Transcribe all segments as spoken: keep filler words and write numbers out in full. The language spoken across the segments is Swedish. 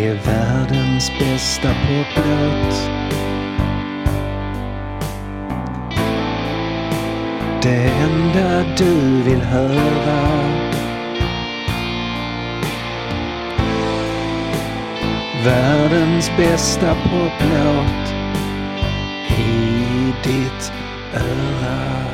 Det är världens bästa poplåt. Det enda du vill höra. Världens bästa poplåt i ditt öra.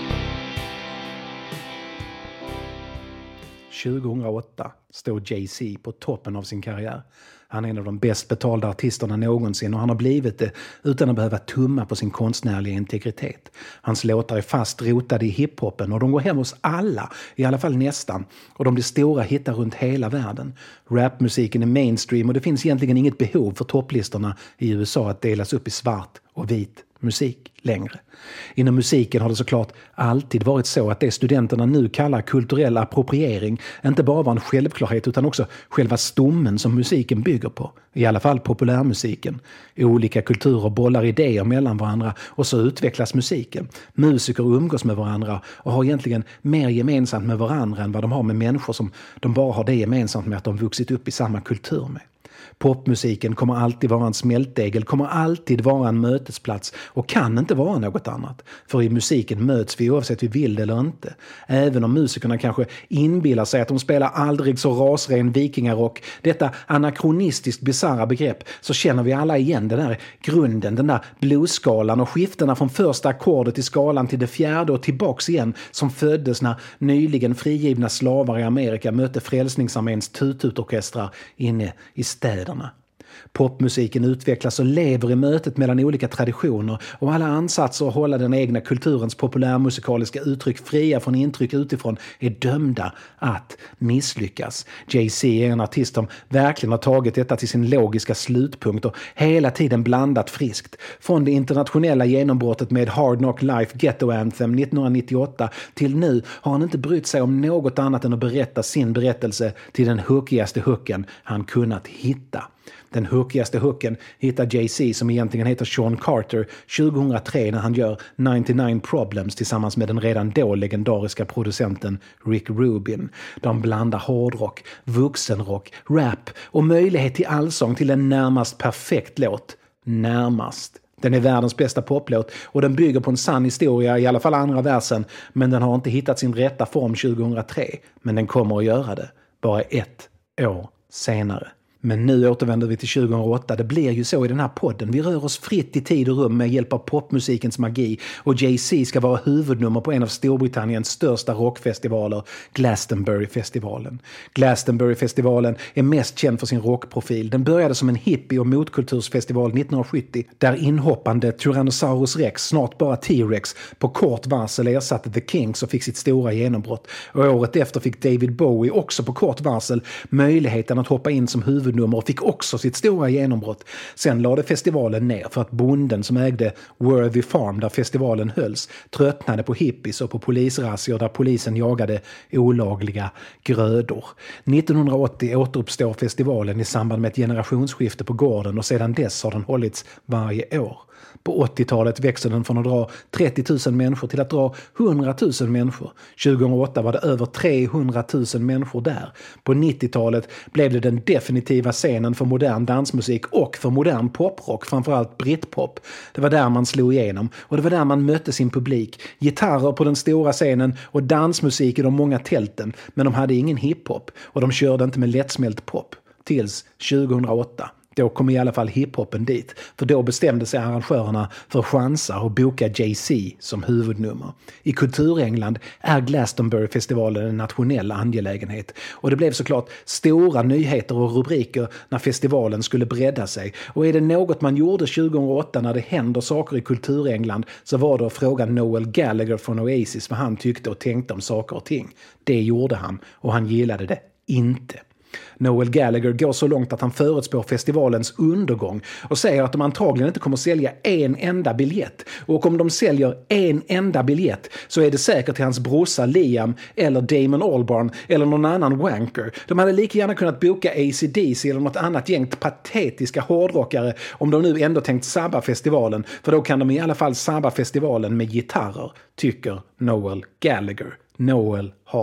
tjugohundraåtta stod Jay-Z på toppen av sin karriär. Han är en av de bäst betalda artisterna någonsin och han har blivit det utan att behöva tumma på sin konstnärliga integritet. Hans låtar är fast rotade i hiphopen och de går hem hos alla, i alla fall nästan. Och de blir stora hittar runt hela världen. Rapmusiken är mainstream och det finns egentligen inget behov för topplistorna i U S A att delas upp i svart och vit musik längre. Inom musiken har det såklart alltid varit så att det studenterna nu kallar kulturell appropriering inte bara var en självklarhet utan också själva stommen som musiken bygger på. I alla fall populärmusiken. Olika kulturer bollar idéer mellan varandra och så utvecklas musiken. Musiker umgås med varandra och har egentligen mer gemensamt med varandra än vad de har med människor som de bara har det gemensamt med att de vuxit upp i samma kultur med. Popmusiken kommer alltid vara en smältdegel, kommer alltid vara en mötesplats och kan inte vara något annat. För i musiken möts vi oavsett vi vill det eller inte. Även om musikerna kanske inbillar sig att de spelar aldrig så rasren vikingarock, detta anakronistiskt bizarra begrepp, så känner vi alla igen den där grunden, den där bluesskalan och skiftena från första ackordet i skalan till det fjärde och tillbaks igen som föddes när nyligen frigivna slavar i Amerika mötte Frälsningsarméns tututorkestrar inne i städerna. Popmusiken utvecklas och lever i mötet mellan olika traditioner och alla ansatser att hålla den egna kulturens populärmusikaliska uttryck fria från intryck utifrån är dömda att misslyckas. Jay-Z är en artist som verkligen har tagit detta till sin logiska slutpunkt och hela tiden blandat friskt. Från det internationella genombrottet med Hard Knock Life Ghetto Anthem nittonhundranittioåtta till nu har han inte brytt sig om något annat än att berätta sin berättelse till den hookigaste hooken han kunnat hitta. Den hookigaste hooken hittar Jay-Z som egentligen heter Sean Carter tjugohundratre när han gör nittionio Problems tillsammans med den redan då legendariska producenten Rick Rubin. De blandar hårdrock, vuxenrock, rap och möjlighet till allsång till en närmast perfekt låt. Närmast. Den är världens bästa poplåt och den bygger på en sann historia, i alla fall andra versen, men den har inte hittat sin rätta form tjugohundratre. Men den kommer att göra det, bara ett år senare. Men nu återvänder vi till tjugohundraåtta. Det blir ju så i den här podden. Vi rör oss fritt i tid och rum med hjälp av popmusikens magi. Och Jay-Z ska vara huvudnummer på en av Storbritanniens största rockfestivaler, Glastonbury-festivalen. Glastonbury-festivalen är mest känd för sin rockprofil. Den började som en hippie- och motkultursfestival nittonhundrasjuttio där inhoppande Tyrannosaurus Rex, snart bara T-Rex, på kort varsel ersatte The Kinks och fick sitt stora genombrott. Och året efter fick David Bowie också på kort varsel möjligheten att hoppa in som huvud och fick också sitt stora genombrott. Sen lade festivalen ner för att bonden som ägde Worthy Farm där festivalen hölls tröttnade på hippies och på polisrazzior där polisen jagade olagliga grödor. nittonhundraåttio återuppstår festivalen i samband med ett generationsskifte på gården och sedan dess har den hållits varje år. På åttiotalet växer den från att dra trettio tusen människor till att dra hundra tusen människor. tjugohundraåtta var det över trehundra tusen människor där. På nittiotalet blev det den definitiva scenen för modern dansmusik och för modern poprock, framförallt britpop. Det var där man slog igenom och det var där man mötte sin publik. Gitarrer på den stora scenen och dansmusik i de många tälten, men de hade ingen hiphop och de körde inte med lättsmält pop. Tills tjugohundraåtta. Då kom i alla fall hiphopen dit, för då bestämde sig arrangörerna för chansa och boka Jay-Z som huvudnummer. I Kulturengland är Glastonbury-festivalen en nationell angelägenhet och det blev såklart stora nyheter och rubriker när festivalen skulle bredda sig. Och är det något man gjorde tjugohundraåtta när det händer saker i Kulturengland så var det att fråga Noel Gallagher från Oasis vad han tyckte och tänkte om saker och ting. Det gjorde han och han gillade det inte. Noel Gallagher går så långt att han förutspår festivalens undergång och säger att de antagligen inte kommer att sälja en enda biljett. Och om de säljer en enda biljett så är det säkert till hans brorsa Liam eller Damon Albarn eller någon annan wanker. De hade lika gärna kunnat boka A C D C eller något annat gäng patetiska hårdrockare om de nu ändå tänkt sabba festivalen, för då kan de i alla fall sabba festivalen med gitarrer, tycker Noel Gallagher. Noel har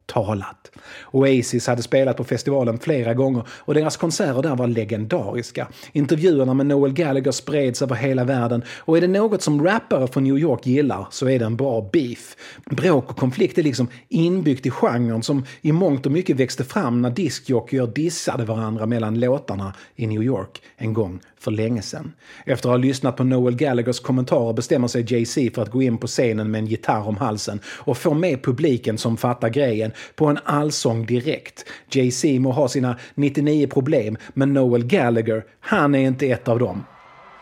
talat. Oasis hade spelat på festivalen flera gånger och deras konserter där var legendariska. Intervjuerna med Noel Gallagher spreds över hela världen och är det något som rappare från New York gillar så är det en bra beef. Bråk och konflikt är liksom inbyggt i genren som i mångt och mycket växte fram när diskjockeyer dissade varandra mellan låtarna i New York en gång för länge sedan. Efter att ha lyssnat på Noel Gallaghers kommentarer bestämmer sig Jay-Z för att gå in på scenen med en gitarr om halsen och få med publiken som fattar grejen på en allsång direkt. Jay-Z må ha sina nittionio problem, men Noel Gallagher, han är inte ett av dem.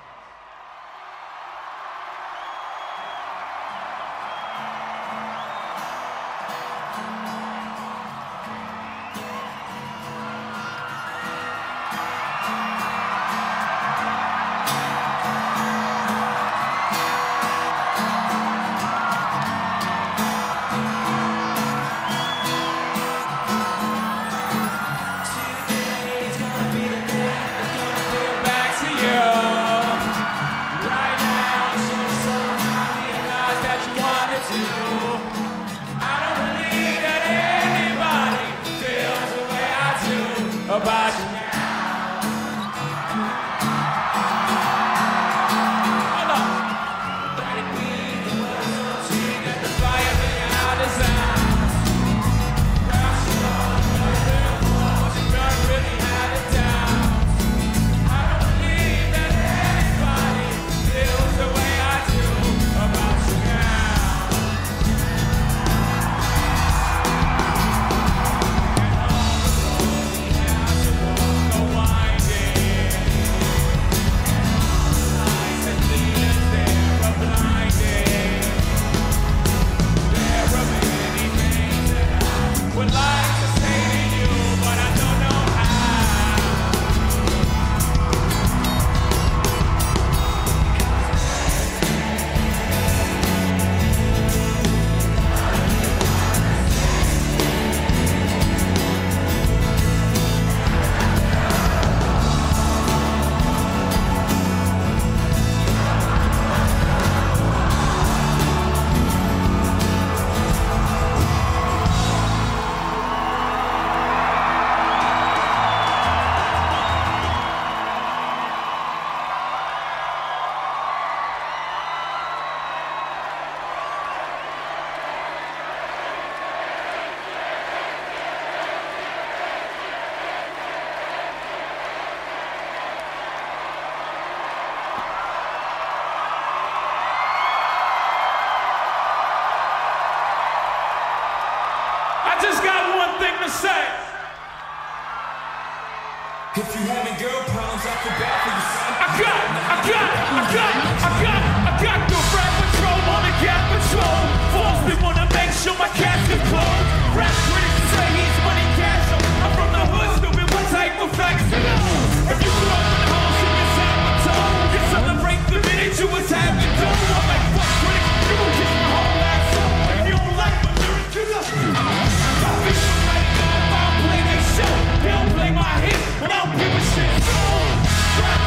If you having girl problems, I feel bad for you, son. I got, I got, I got, I got, I got the rap patrol on the gap patrol. Falls me wanna make sure my cash is closed. Rap critics say he's money cash. I'm from the hood, stupid. What type of facts you know? If you grew up in the house, you can sound my tone. You celebrate the minute you was having dough. I'm like, fuck critics, you gon' kiss my whole ass up. If you don't like my lyrics, you just stop it. Right now, if I don't play they show, they don't play my hit, but I don't give a shit. So, rap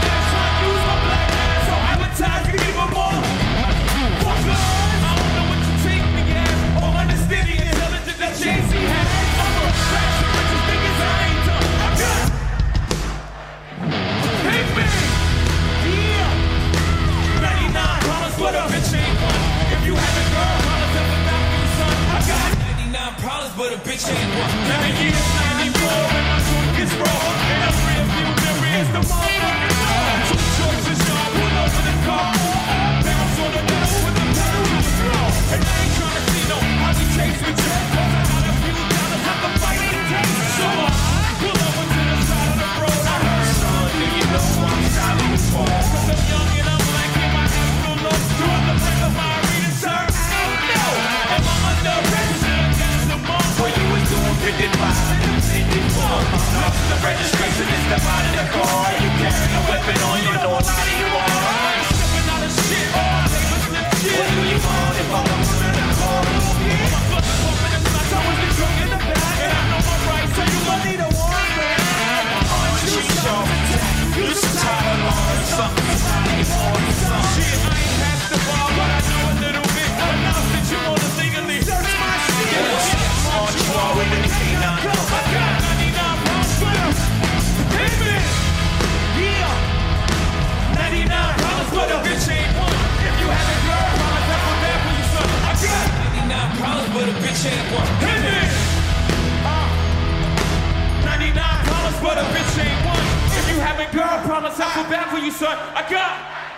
but a bitch ain't one. Hit me! Uh, ninety-nine problems, but a bitch ain't one. If you having girl problems, I feel bad for you, son. I got...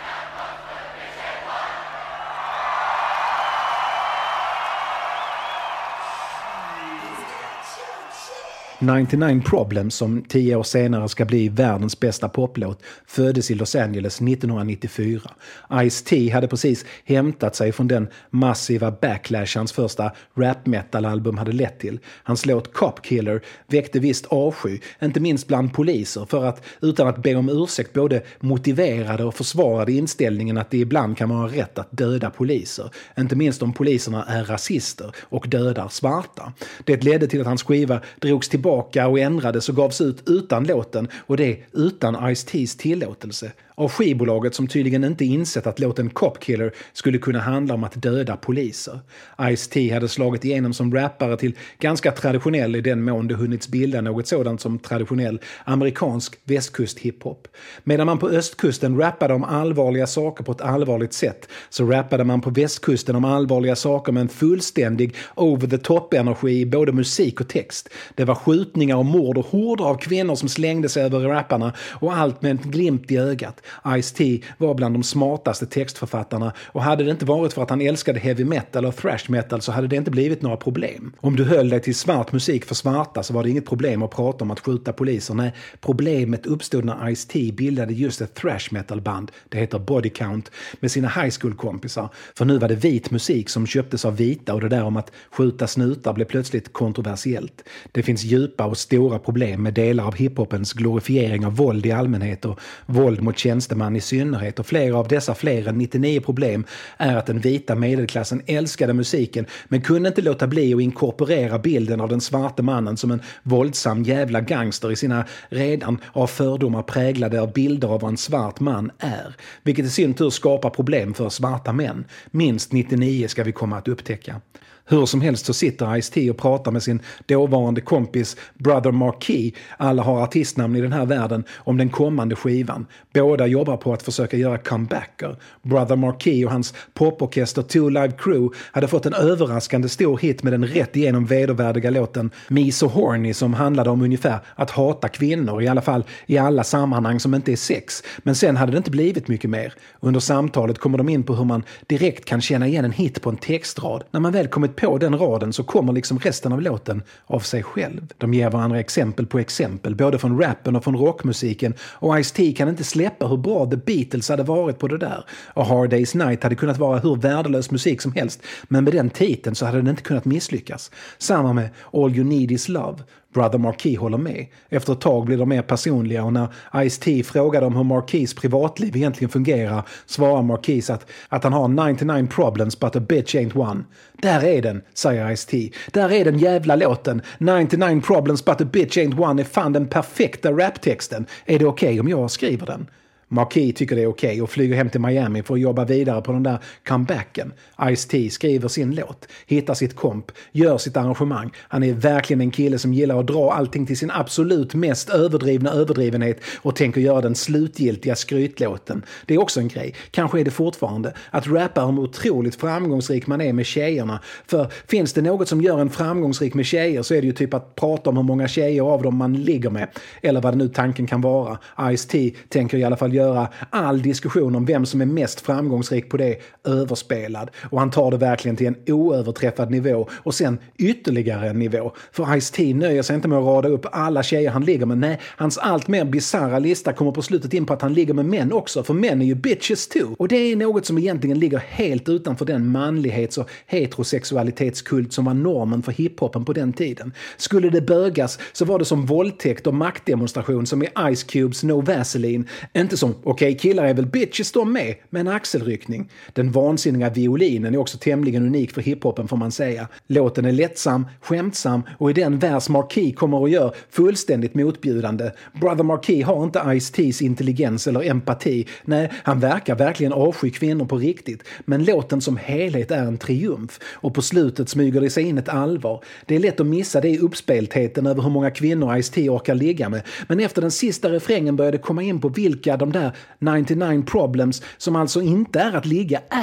nittionio Problems, som tio år senare ska bli världens bästa poplåt, föddes i Los Angeles nittonhundranittiofyra. Ice-T hade precis hämtat sig från den massiva backlash hans första rap-metal-album hade lett till. Hans låt Cop Killer väckte visst avsky, inte minst bland poliser, för att utan att be om ursäkt både motiverade och försvarade inställningen att det ibland kan vara rätt att döda poliser. Inte minst om poliserna är rasister och dödar svarta. Det ledde till att hans skiva drogs tillbaka och ändrades och gavs ut utan låten, och det utan Ice-T's tillåtelse. Av skivbolaget som tydligen inte insett att låten Cop Killer skulle kunna handla om att döda poliser. Ice-T hade slagit igenom som rappare till ganska traditionell i den mån det hunnits bilda något sådant som traditionell amerikansk västkust hiphop. Medan man på östkusten rappade om allvarliga saker på ett allvarligt sätt, så rappade man på västkusten om allvarliga saker med en fullständig over-the-top-energi i både musik och text. Det var skjutningar och mord och horder av kvinnor som slängde sig över rapparna, och allt med en glimt i ögat. Ice-T var bland de smartaste textförfattarna, och hade det inte varit för att han älskade heavy metal och thrash metal så hade det inte blivit några problem. Om du höll dig till svart musik för svarta så var det inget problem att prata om att skjuta poliser. Nej, problemet uppstod när Ice-T bildade just ett thrash metal band, det heter Body Count, med sina high school-kompisar. För nu var det vit musik som köptes av vita, och det där om att skjuta snutar blev plötsligt kontroversiellt. Det finns djupa och stora problem med delar av hiphopens glorifiering av våld i allmänhet och våld mot tjänsteman i synnerhet, och flera av dessa fler än nittionio problem är att den vita medelklassen älskade musiken men kunde inte låta bli att inkorporera bilden av den svarte mannen som en våldsam jävla gangster i sina redan av fördomar präglade av bilder av vad en svart man är, vilket i sin tur skapar problem för svarta män. Minst nittionio ska vi komma att upptäcka. Hur som helst så sitter Ice-T och pratar med sin dåvarande kompis Brother Marquis, alla har artistnamn i den här världen, om den kommande skivan. Båda jobbar på att försöka göra comebacker. Brother Marquis och hans poporkester Two Live Crew hade fått en överraskande stor hit med den rätt igenom vedervärdiga låten Me So Horny, som handlade om ungefär att hata kvinnor, i alla fall i alla sammanhang som inte är sex. Men sen hade det inte blivit mycket mer. Under samtalet kommer de in på hur man direkt kan känna igen en hit på en textrad. När man väl kommit på den raden så kommer liksom resten av låten av sig själv. De ger varandra exempel på exempel, både från rappen och från rockmusiken, och Ice-T kan inte släppa hur bra The Beatles hade varit på det där. Och Hard Day's Night hade kunnat vara hur värdelös musik som helst, men med den titeln så hade den inte kunnat misslyckas. Samma med All You Need Is Love. Brother Marquis håller med. Efter ett tag blir de mer personliga, och när Ice-T frågar dem hur Marquis privatliv egentligen fungerar svarar Marquis att, att han har nittionio problems but a bitch ain't one. Där är den, säger Ice-T. Där är den jävla låten. nittionio problems but a bitch ain't one är fan den perfekta raptexten. Är det okej okay om jag skriver den? Marquis tycker det är okej okay och flyger hem till Miami för att jobba vidare på den där comebacken. Ice-T skriver sin låt, hittar sitt komp, gör sitt arrangemang. Han är verkligen en kille som gillar att dra allting till sin absolut mest överdrivna överdrivenhet och tänker göra den slutgiltiga skrytlåten. Det är också en grej, kanske är det fortfarande, att rappa om hur otroligt framgångsrik man är med tjejerna. För finns det något som gör en framgångsrik med tjejer så är det ju typ att prata om hur många tjejer av dem man ligger med. Eller vad det nu tanken kan vara. Ice-T tänker i alla fall göra göra all diskussion om vem som är mest framgångsrik på det överspelad. Och han tar det verkligen till en oöverträffad nivå och sen ytterligare en nivå. För Ice-T nöjer sig inte med att rada upp alla tjejer han ligger med. Nej, hans allt mer bizarra lista kommer på slutet in på att han ligger med män också. För män är ju bitches too. Och det är något som egentligen ligger helt utanför den manlighets- och heterosexualitetskult som var normen för hiphopen på den tiden. Skulle det bögas så var det som våldtäkt och maktdemonstration som i Ice Cubes No Vaseline. Inte som, okej okay, killar är väl bitches de med, men axelryckning. Den vansinniga violinen är också tämligen unik för hiphopen får man säga. Låten är lättsam, skämtsam och i den vers Marquis kommer och gör fullständigt motbjudande. Brother Marquis har inte Ice-T's intelligens eller empati. Nej, han verkar verkligen avsky kvinnor på riktigt. Men låten som helhet är en triumf. Och på slutet smyger det sig in ett allvar. Det är lätt att missa det i uppspeltheten över hur många kvinnor Ice-T orkar ligga med. Men efter den sista refrängen började komma in på vilka de där nittionio problems som alltså inte är att ligga är.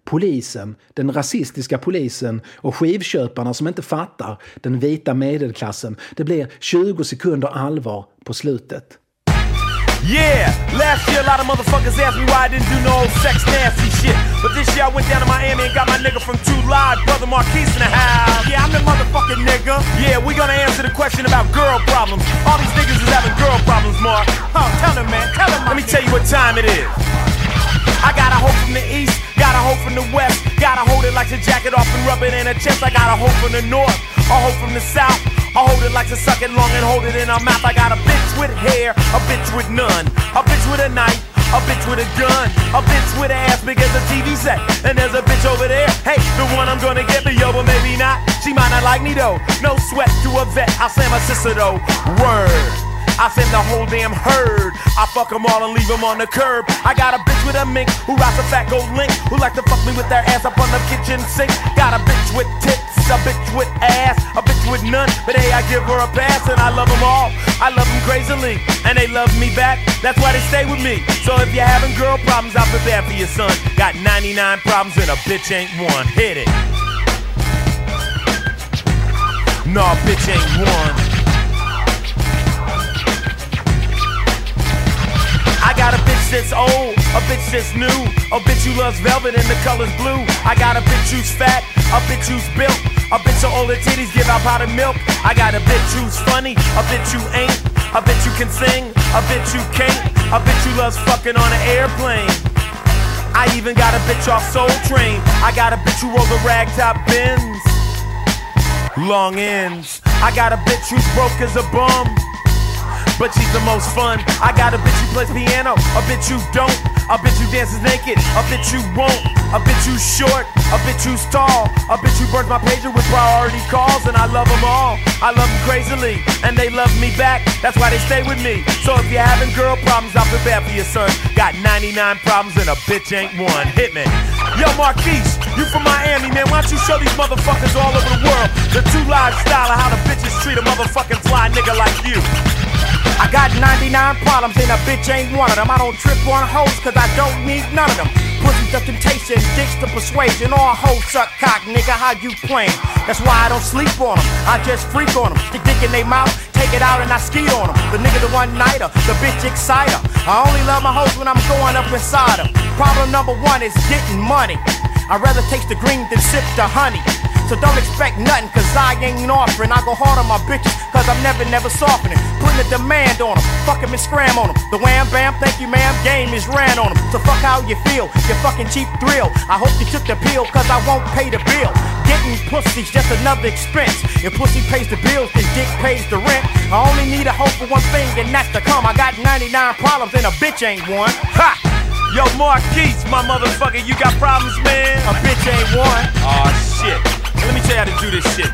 polisen, den rasistiska polisen och skivköparna som inte fattar den vita medelklassen. Det blir tjugo sekunder allvar på slutet. Yeah, last year a lot of motherfuckers asked me why I didn't do no old sex nasty shit. But this year I went down to Miami and got my nigga from Two Live, Brother Marquise in the house. Yeah, I'm the motherfucking nigga. Yeah, we gonna answer the question about girl problems. All these niggas is having girl problems, Mark. Huh, tell them, man, tell them. Let me tell you what time it is. I got a hoe from the east, got a hoe from the west. Gotta hold it like to jack it off and rub it in her chest. I got a hoe from the north, a hoe from the south. I hold it like to suck it long and hold it in her mouth. I got a bitch with hair, a bitch with none, a bitch with a knife, a bitch with a gun, a bitch with an ass big as a T V set. And there's a bitch over there, hey, the one I'm gonna get me, yo, but maybe not. She might not like me though, no sweat to a vet. I'll say my sister though, word. I send the whole damn herd. I fuck them all and leave them on the curb. I got a bitch with a mink who rocks a fat gold link, who like to fuck me with their ass up on the kitchen sink. Got a bitch with tits, a bitch with ass, a bitch with none, but hey, I give her a pass and I love them all. I love them crazily, and they love me back. That's why they stay with me. So if you're having girl problems, I'll prepare for your son. Got ninety-nine problems and a bitch ain't one. Hit it. No, bitch ain't one. I got a bitch that's old, a bitch that's new, a bitch who loves velvet and the color's blue. I got a bitch who's fat, a bitch who's built, a bitch so all the titties give out powdered milk. I got a bitch who's funny, a bitch who ain't, a bitch who can sing, a bitch who can't, a bitch who loves fucking on an airplane. I even got a bitch off Soul Train. I got a bitch who rolls a ragtop Benz, long ends. I got a bitch who's broke as a bum, but she's the most fun. I got a bitch who plays piano, a bitch who don't, a bitch who dances naked, a bitch who won't, a bitch who's short, a bitch who's tall, a bitch who burns my pager with priority calls, and I love them all. I love them crazily, and they love me back. That's why they stay with me. So if you're having girl problems, I'll prepare for your son. Got ninety-nine problems and a bitch ain't one. Hit me. Yo, Marquise, you from Miami, man. Why don't you show these motherfuckers all over the world the Two Live style of how the bitches treat a motherfucking fly nigga like you? I got ninety-nine problems and a bitch ain't one of them. I don't trip on hoes cause I don't need none of them. Pussies of temptation, dicks to persuasion. All hoes suck cock, nigga, how you playing? That's why I don't sleep on them, I just freak on them. Stick dick in they mouth, take it out and I ski on them. The nigga the one-nighter, the bitch exciter. I only love my hoes when I'm going up inside them. Problem number one is getting money. I'd rather taste the green than sip the honey. So don't expect nothing cause I ain't offering. I go hard on my bitches cause I'm never, never softening. Putting a demand on them, fuck 'em and scram on them. The wham bam, thank you ma'am, game is ran on them. So fuck how you feel, you fucking cheap thrill. I hope you took the pill cause I won't pay the bill. Getting pussy's just another expense. If pussy pays the bills, then dick pays the rent. I only need a hope for one thing and that's to come. I got ninety-nine problems and a bitch ain't one. Ha! Yo, Marquise, my motherfucker, you got problems, man? A bitch ain't one. Aw, shit. Let me tell you how to do this shit.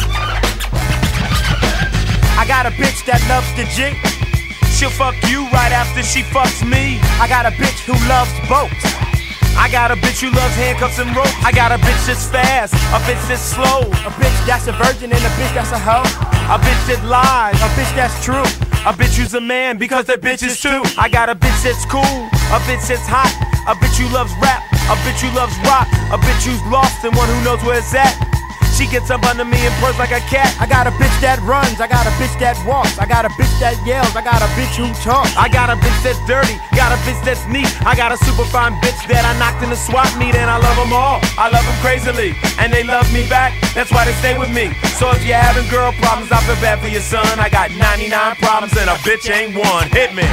I got a bitch that loves the jig. She'll fuck you right after she fucks me. I got a bitch who loves boats. I got a bitch who loves handcuffs and ropes. I got a bitch that's fast, a bitch that's slow, a bitch that's a virgin and a bitch that's a hoe, a bitch that lies, a bitch that's true, a bitch who's a man because they're bitches too. I got a bitch that's cool, a bitch that's hot, a bitch who loves rap, a bitch who loves rock, a bitch who's lost and one who knows where it's at. She gets up under me and purrs like a cat. I got a bitch that runs, I got a bitch that walks, I got a bitch that yells, I got a bitch who talks. I got a bitch that's dirty, got a bitch that's neat. I got a super fine bitch that I knocked in the swap meet, and I love them all. I love them crazily, and they love me back. That's why they stay with me. So if you're having girl problems, I feel bad for your son. I got ninety-nine problems and a bitch ain't one. Hit me.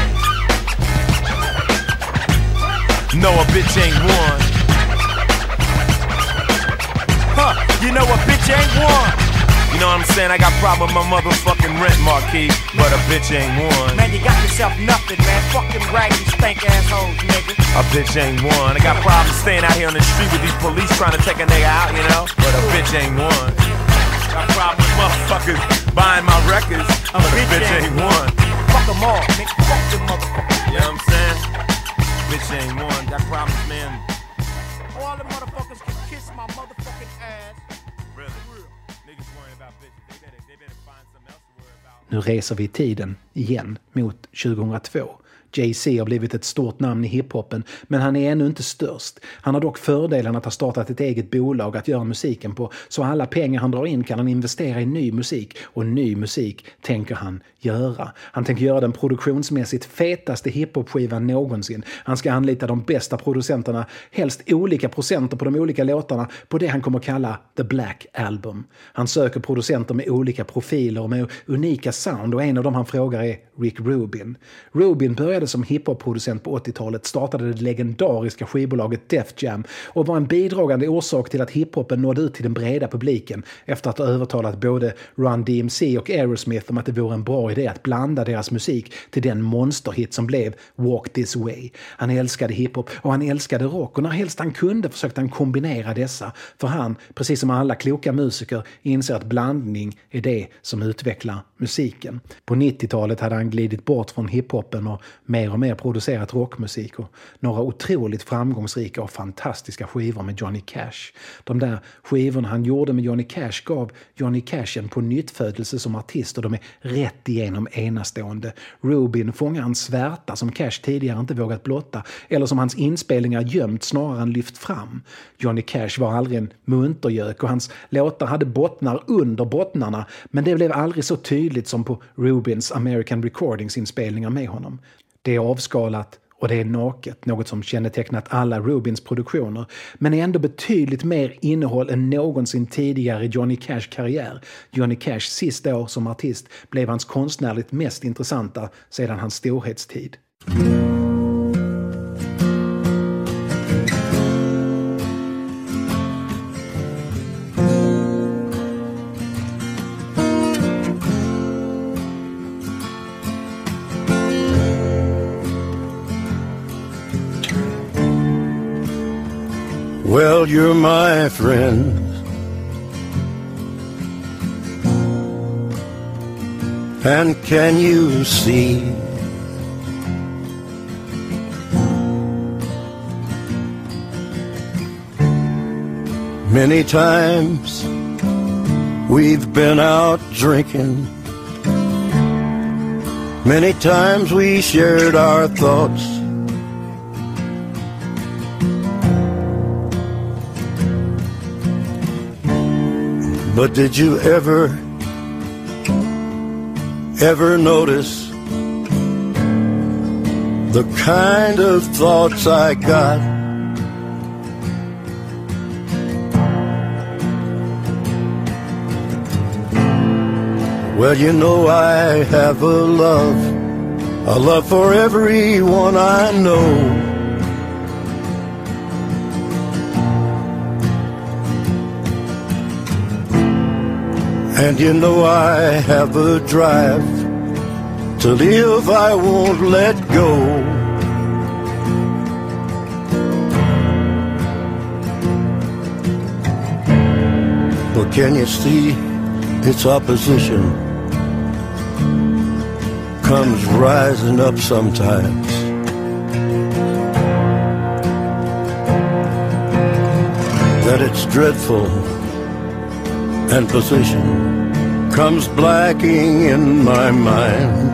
No, a bitch ain't one. Huh, you know a bitch ain't one. You know what I'm saying? I got problem with my motherfucking rent, Marquis, but a bitch ain't one. Man, you got yourself nothing, man. Fucking raggedy stank assholes, nigga. A bitch ain't one. I got problems staying out here on the street with these police trying to take a nigga out, you know? But a bitch ain't one. Got problems with motherfuckers buying my records, a but bitch a bitch ain't, ain't one. Fuck them all, nigga. Fuck them motherfuckers. You know what I'm saying? Bitch ain't one. Got problems, man. All the motherfuckers can kiss my motherfucking ass. Really? Niggas worrying about bitches. They better, they better find something else to worry about. Nu reser vi i tiden igen mot tjugohundratvå. Jay-Z har blivit ett stort namn i hiphopen, men han är ännu inte störst. Han har dock fördelen att ha startat ett eget bolag att göra musiken på, så alla pengar han drar in kan han investera i ny musik, och ny musik tänker han göra. Han tänker göra den produktionsmässigt fetaste hiphop-skivan någonsin. Han ska anlita de bästa producenterna, helst olika procenter på de olika låtarna, på det han kommer kalla The Black Album. Han söker producenter med olika profiler och med unika sound, och en av dem han frågar är Rick Rubin. Rubin började som hiphop-producent på åttiotalet, startade det legendariska skivbolaget Def Jam och var en bidragande orsak till att hiphopen nådde ut till den breda publiken efter att ha övertalat både Run D M C och Aerosmith om att det vore en bra idé att blanda deras musik till den monsterhit som blev Walk This Way. Han älskade hiphop och han älskade rock, och när helst han kunde försökte han kombinera dessa, för han, precis som alla kloka musiker, inser att blandning är det som utvecklar musiken. På nittiotalet hade han glidit bort från hiphopen och mer och mer producerat rockmusik och några otroligt framgångsrika och fantastiska skivor med Johnny Cash. De där skivorna han gjorde med Johnny Cash gav Johnny Cash en på nyttfödelse som artist, och de är rätt igenom enastående. Rubin fångar en svärta som Cash tidigare inte vågat blotta, eller som hans inspelningar gömt snarare än lyft fram. Johnny Cash var aldrig en muntergök, och hans låtar hade bottnar under bottnarna, men det blev aldrig så tydligt som på Rubins American Recordings-inspelningar med honom. Det är avskalat och det är naket, något som kännetecknat alla Rubins produktioner, men är ändå betydligt mer innehåll än någonsin tidigare i Johnny Cash karriär. Johnny Cashs sista år som artist blev hans konstnärligt mest intressanta sedan hans storhetstid. Well, you're my friend, and can you see many times we've been out drinking, many times we shared our thoughts, but did you ever, ever notice the kind of thoughts I got? Well, you know I have a love, a love for everyone I know. And you know I have a drive to live I won't let go. But can you see its opposition comes rising up sometimes? That it's dreadful and position comes blacking in my mind,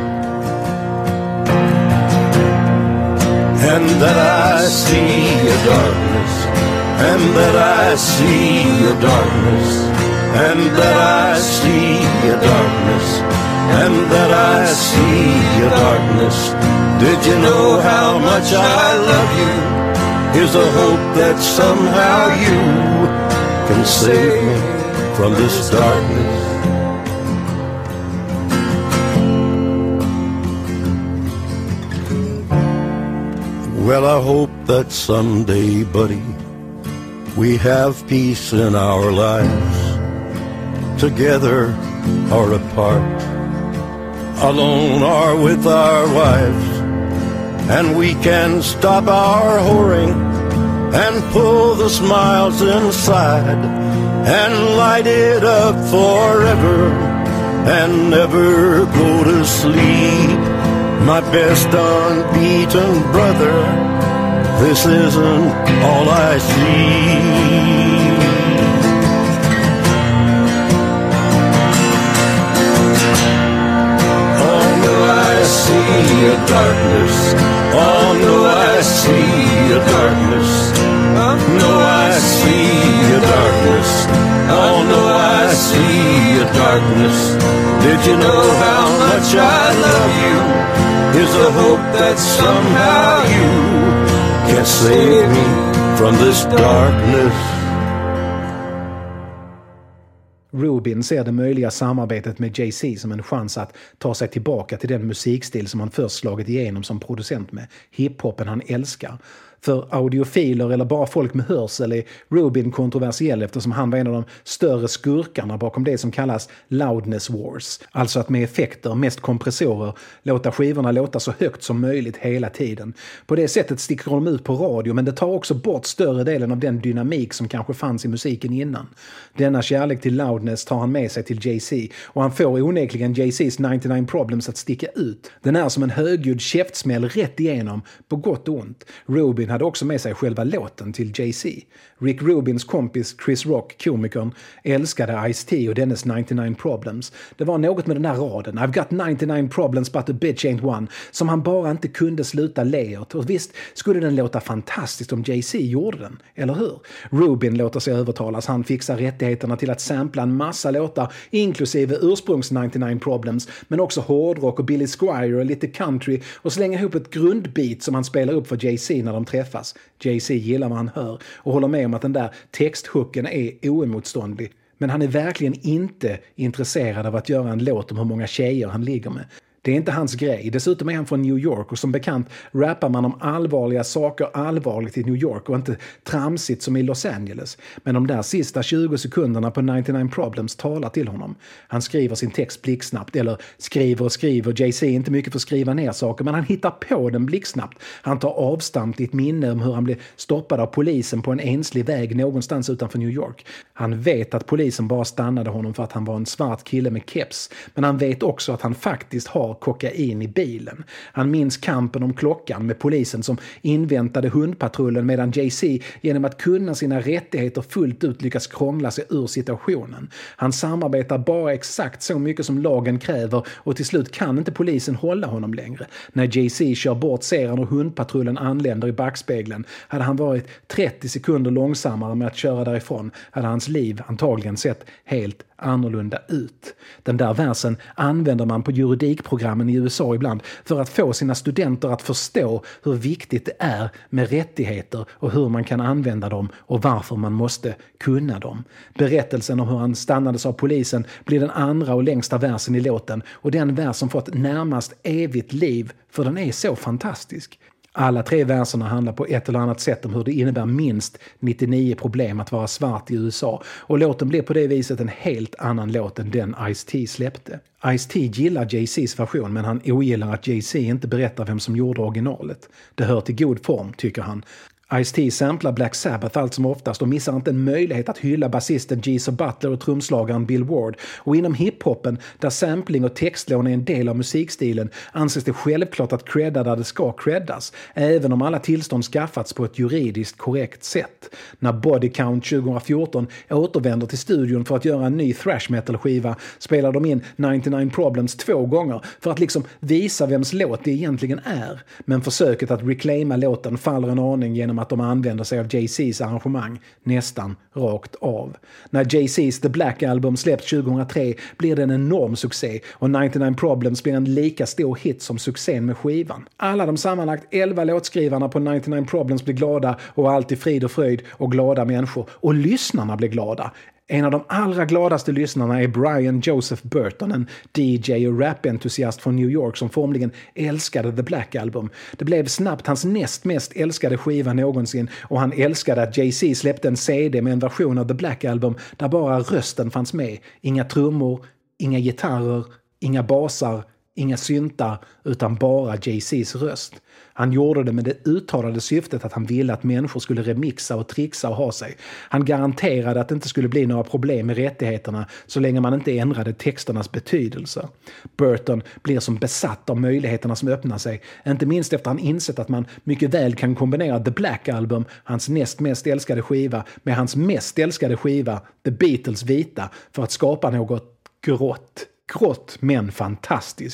and that I see a darkness, and that I see a darkness, and that I see a darkness, and that I see a darkness. Did you know how much I love you? Here's a hope that somehow you can save me from this darkness. Well, I hope that someday, buddy, we have peace in our lives, together or apart, alone or with our wives, and we can stop our whoring and pull the smiles inside and light it up forever and never go to sleep. My best unbeaten brother, this isn't all I see. Oh, no, I see a darkness. Oh no, I see a darkness. No, I see a darkness. Oh no, I see a darkness. Did you know how much I love you? Is a hope that somehow you can save me from this darkness. Rubin ser det möjliga samarbetet med Jay-Z som en chans att ta sig tillbaka till den musikstil som han först slagit igenom som producent med, hiphopen han älskar. För audiofiler eller bara folk med hörsel är Rubin kontroversiell eftersom han var en av de större skurkarna bakom det som kallas loudness wars. Alltså att med effekter, mest kompressorer, låta skivorna låta så högt som möjligt hela tiden. På det sättet sticker de ut på radio, men det tar också bort större delen av den dynamik som kanske fanns i musiken innan. Denna kärlek till loudness tar han med sig till Jay-Z och han får onekligen Jay-Z's nittionio Problems att sticka ut. Den är som en högljudd käftsmäll rätt igenom, på gott och ont. Rubin hade också med sig själva låten till Jay-Z. Rick Rubins kompis Chris Rock, komikern, älskade Ice-T och dennes nittionio Problems. Det var något med den här raden, I've got nittionio problems but a bitch ain't one, som han bara inte kunde sluta le åt. Och visst skulle den låta fantastiskt om Jay-Z gjorde den, eller hur? Rubin låter sig övertalas, han fixar rättigheterna till att sampla en massa låtar, inklusive ursprungs nittionio Problems, men också hårdrock och Billy Squier och lite country, och slänger ihop ett grundbeat som han spelar upp för Jay-Z när de träffas. Jay-Z gillar vad han hör och håller med om att den där texthooken är oemotståndlig. Men han är verkligen inte intresserad av att göra en låt om hur många tjejer han ligger med. Det är inte hans grej. Dessutom är han från New York och som bekant rappar man om allvarliga saker allvarligt i New York och inte tramsigt som i Los Angeles. Men de där sista tjugo sekunderna på nittionio Problems talar till honom. Han skriver sin text blixtsnabbt, eller skriver och skriver. Jay-Z är inte mycket för att skriva ner saker, men han hittar på den blixtsnabbt. Han tar avstamp i ett minne om hur han blev stoppad av polisen på en enslig väg någonstans utanför New York. Han vet att polisen bara stannade honom för att han var en svart kille med keps, men han vet också att han faktiskt har kokain i bilen. Han minns kampen om klockan med polisen som inväntade hundpatrullen medan Jay-Z genom att kunna sina rättigheter fullt ut lyckas krångla sig ur situationen. Han samarbetar bara exakt så mycket som lagen kräver och till slut kan inte polisen hålla honom längre. När Jay-Z kör bort ser han och hundpatrullen anländer i backspegeln. Hade han varit trettio sekunder långsammare med att köra därifrån hade hans liv antagligen sett helt annorlunda ut. Den där versen använder man på juridikprogrammen i U S A ibland för att få sina studenter att förstå hur viktigt det är med rättigheter och hur man kan använda dem och varför man måste kunna dem. Berättelsen om hur han stannades av polisen blir den andra och längsta versen i låten och den vers som fått närmast evigt liv för den är så fantastisk. Alla tre verserna handlar på ett eller annat sätt om hur det innebär minst nittionio problem att vara svart i U S A och låten blir på det viset en helt annan låt än den Ice-T släppte. Ice-T gillar Jay-Z's version men han ogillar att Jay-Z inte berättar vem som gjorde originalet. Det hör till god form, tycker han. Ice-T samplar Black Sabbath allt som oftast och missar inte en möjlighet att hylla basisten Geezer Butler och trumslagaren Bill Ward. Och inom hiphopen, där sampling och textlån är en del av musikstilen, anses det självklart att credda där det ska creddas, även om alla tillstånd skaffats på ett juridiskt korrekt sätt. När Body Count tjugohundrafjorton återvänder till studion för att göra en ny thrash metal-skiva spelar de in nittionio Problems två gånger för att liksom visa vems låt det egentligen är. Men försöket att reclaima låten faller en aning genom att de använder sig av Jay-Z's arrangemang nästan rakt av. När Jay-Z's The Black Album släpps tjugohundratre blir det en enorm succé och nittionio Problems blir en lika stor hit som succén med skivan. Alla de sammanlagt elva låtskrivarna på nittionio Problems blir glada och allt är frid och fröjd och glada människor. Och lyssnarna blir glada. En av de allra gladaste lyssnarna är Brian Joseph Burton, en D J och rap-entusiast från New York som formligen älskade The Black Album. Det blev snabbt hans näst mest älskade skiva någonsin och han älskade att Jay-Z släppte en C D med en version av The Black Album där bara rösten fanns med. Inga trummor, inga gitarrer, inga basar, inga syntar utan bara Jay-Z's röst. Han gjorde det med det uttalade syftet att han ville att människor skulle remixa och trixa och ha sig. Han garanterade att det inte skulle bli några problem med rättigheterna så länge man inte ändrade texternas betydelse. Burton blir som besatt av möjligheterna som öppnar sig, inte minst efter han insett att man mycket väl kan kombinera The Black Album, hans näst mest älskade skiva, med hans mest älskade skiva, The Beatles vita, för att skapa något grått. Grått men fantastiskt.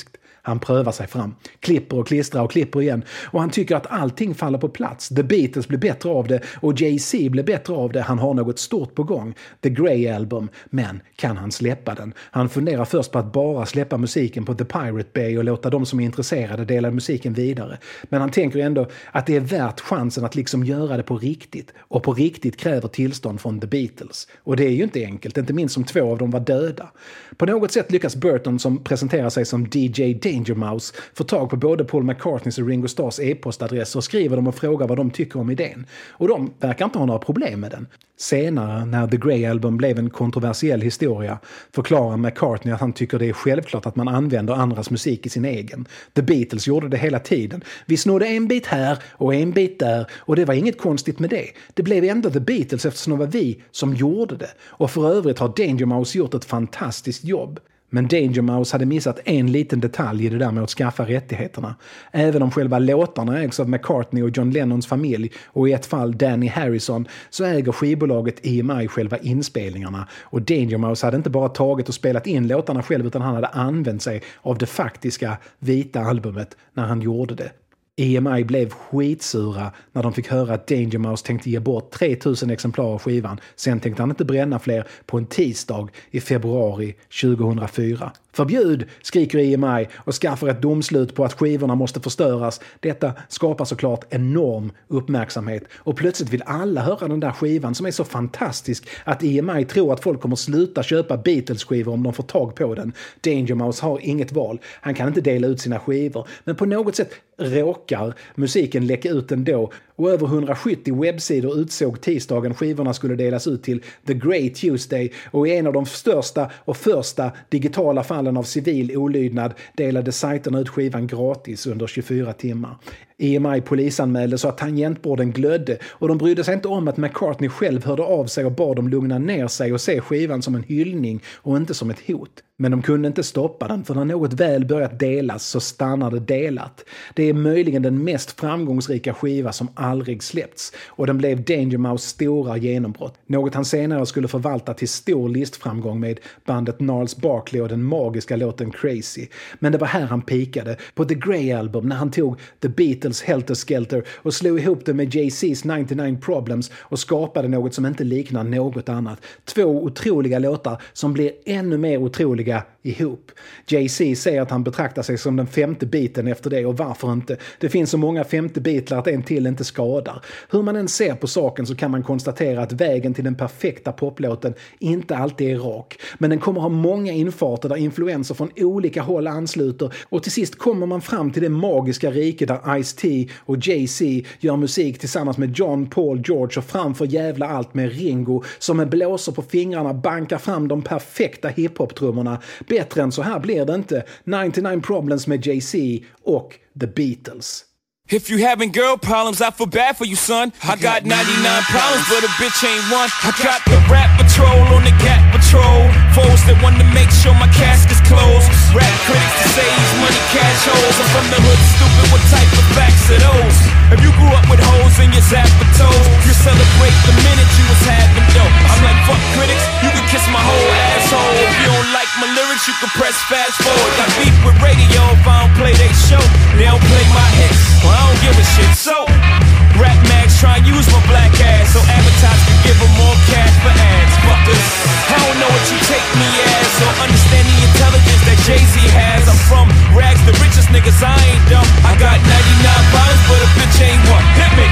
Han prövar sig fram, klipper och klistrar och klipper igen. Och han tycker att allting faller på plats. The Beatles blir bättre av det och Jay-Z blir bättre av det. Han har något stort på gång. The Grey Album. Men kan han släppa den? Han funderar först på att bara släppa musiken på The Pirate Bay och låta de som är intresserade dela musiken vidare. Men han tänker ändå att det är värt chansen att liksom göra det på riktigt. Och på riktigt kräver tillstånd från The Beatles. Och det är ju inte enkelt, inte minst som två av dem var döda. På något sätt lyckas Burton, som presenterar sig som D J Danger Mouse, få tag på både Paul McCartneys och Ringo Starrs e-postadress och skriver dem och frågar vad de tycker om idén. Och de verkar inte ha några problem med den. Senare, när The Grey Album blev en kontroversiell historia, förklarar McCartney att han tycker det är självklart att man använder andras musik i sin egen. The Beatles gjorde det hela tiden. Vi snodde en bit här och en bit där och det var inget konstigt med det. Det blev ändå The Beatles eftersom det var vi som gjorde det. Och för övrigt har Danger Mouse gjort ett fantastiskt jobb. Men Danger Mouse hade missat en liten detalj i det där med att skaffa rättigheterna. Även om själva låtarna ägs av McCartney och John Lennons familj och i ett fall Danny Harrison, så äger skivbolaget E M I själva inspelningarna. Och Danger Mouse hade inte bara tagit och spelat in låtarna själv, utan han hade använt sig av det faktiska vita albumet när han gjorde det. E M I blev skitsura när de fick höra att Danger Mouse tänkte ge bort tre tusen exemplar av skivan. Sen tänkte han inte bränna fler på en tisdag i februari tjugohundrafyra. Förbjud, skriker E M I och skaffar ett domslut på att skivorna måste förstöras. Detta skapar såklart enorm uppmärksamhet och plötsligt vill alla höra den där skivan som är så fantastisk att E M I tror att folk kommer sluta köpa Beatles-skivor om de får tag på den. Danger Mouse har inget val. Han kan inte dela ut sina skivor, men på något sätt råkar musiken läcka ut ändå. Och över hundrasjuttio webbsidor utsåg tisdagen skivorna skulle delas ut till The Great Tuesday, och i en av de största och första digitala fallen av civil olydnad delade sajterna ut skivan gratis under tjugofyra timmar. E M I polisanmälde så att tangentborden glödde, och de brydde sig inte om att McCartney själv hörde av sig och bad dem lugna ner sig och se skivan som en hyllning och inte som ett hot. Men de kunde inte stoppa den, för när något väl börjat delas så stannar det delat. Det är möjligen den mest framgångsrika skiva som aldrig släppts, och den blev Danger Mouse stora genombrott. Något han senare skulle förvalta till stor listframgång med bandet Gnarls Barkley och den magiska låten Crazy. Men det var här han pikade, på The Grey Album, när han tog The Beatles Helter Skelter och slog ihop det med Jay-Z's nittionio Problems och skapade något som inte liknar något annat. Två otroliga låtar som blir ännu mer otroliga ihop. Jay-Z säger att han betraktar sig som den femte biten efter det, och varför inte? Det finns så många femte bitlar att en till inte skadar. Hur man än ser på saken så kan man konstatera att vägen till den perfekta poplåten inte alltid är rak. Men den kommer ha många infarter där influenser från olika håll ansluter, och till sist kommer man fram till det magiska rike där Ice-T och Jay-Z gör musik tillsammans med John, Paul, George och framför jävla allt med Ringo som med blåsor på fingrarna bankar fram de perfekta hiphop-trummorna. Bättre än så här blir det inte. nittionio Problems med Jay-Z och The Beatles. If you having girl problems, I feel bad for you, son. I got ninety-nine problems, but a bitch ain't one. I got the rap patrol on the Gap patrol. Foes that want to make sure my casket's closed. Rap critics to say he's money cash holes. I'm from the hood, stupid, what type of facts are those? If you grew up with hoes in your zapper toes, you celebrate the minute you was having dope. I'm like, fuck critics, you can kiss my whole asshole. If you don't like my lyrics, you can press fast forward. Got beef with radio if I don't play they show. They don't play my hits. Well, I don't give a shit. So, rap mags try and use my black ass so advertisers can give them more cash for ads. Fuckers, I don't know what you take me as or understand the intelligence that Jay-Z has. I'm from rags, the richest niggas, I ain't dumb. I got ninety-nine problems, but a bitch ain't one. Hit me!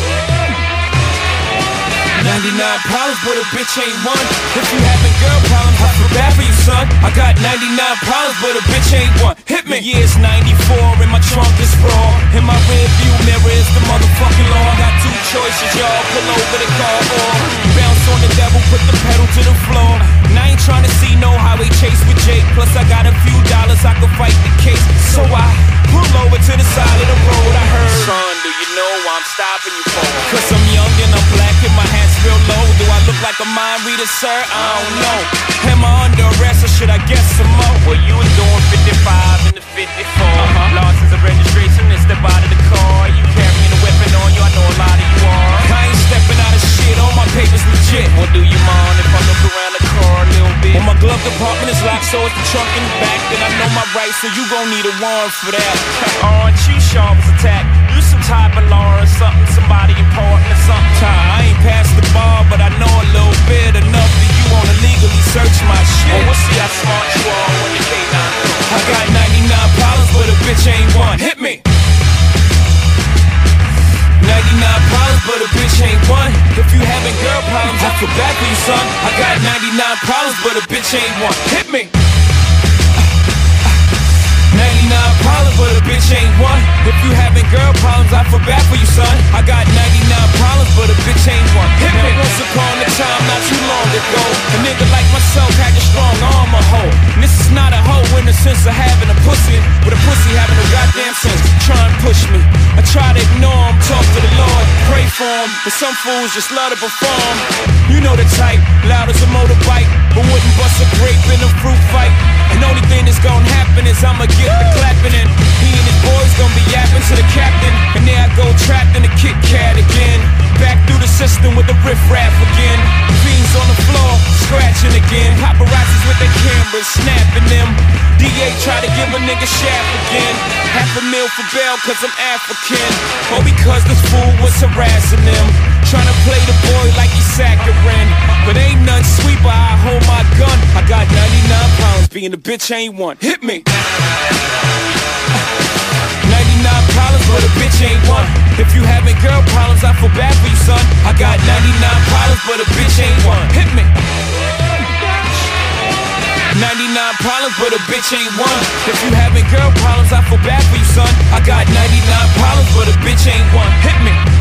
ninety-nine problems, but a bitch ain't one. If you having girl problems, I feel bad for you, son. I got ninety-nine problems, but a bitch ain't one. Hit me! The year's ninety-four, and my trunk is raw. In my rear view mirror is the motherfucking law. I got two choices, y'all. Pull over the car or bounce on the devil, put the pedal to the floor. And I ain't trying to see no highway chase with Jake. Plus I got a few dollars, I could fight the case. So I pull over to the side of the road. I heard, son, do you know why I'm stopping you for? Cause I'm young and I'm black and my hat's real low. Do I look like a mind reader, sir? I don't know. Am I under arrest or should I guess some more? Well, you was doing fifty-five in the fifty-four. Uh-huh. License and registration and step out of the car. You carrying a weapon on you, I know a lot of you are. I ain't stepping out of shit, all my papers legit. Well, do you mind if I look around the car a little bit? Well, my glove apartment is locked, so it's the trunk in the back. Then I know my rights, so you gon' need a warrant for that. Aren't you sharp as attack? You some type of law or something, somebody important or something. I ain't past the bar, but I know a little bit enough that you wanna legally search my shit. Oh, we'll see how smart you are when you K nine. I got ninety-nine problems, but a bitch ain't one. Hit me. ninety-nine problems, but a bitch ain't one. If you having girl problems, I feel bad for you, son. I got ninety-nine problems, but a bitch ain't one. Hit me. ninety-nine problems, but a bitch ain't one. If you having girl problems, I feel bad for you, son. I got ninety-nine problems, but a bitch ain't one. Hit me. Once upon a time, not too long ago, a nigga like myself had a strong arm, a hoe. And this is not a hoe in the sense of having a pussy, but a pussy having no goddamn sense. Try and push me. I try to ignore him, talk to the Lord, pray for him, but some fools just love to perform. You know the type, loud as a motorbike, but wouldn't bust a grape in a fruit fight. And only thing that's gonna happen is I'ma get the clapping and he and his boys gonna be yapping to the captain. And there I go trapped in a Kit Kat again. Back through the system with the riff-raff again. Fiends on the floor, scratching again. Paparazzis with their cameras, snapping them. D A try to give a nigga shaft again. Half a meal for bail cause I'm African. Or because this fool was harassing them. Trying to play the boy like he's saccharine. But ain't nothing sweet but I hold my gun. I got ninety-nine pounds, being a bitch ain't one. Hit me. ninety-nine problems, but a bitch ain't one. If you having girl problems, I feel bad for you, son. I got ninety-nine problems, but a bitch ain't one. Hit me. ninety-nine problems, but a bitch ain't one. If you having girl problems, I feel bad for you, son. I got ninety-nine problems, but a bitch ain't one. Hit me.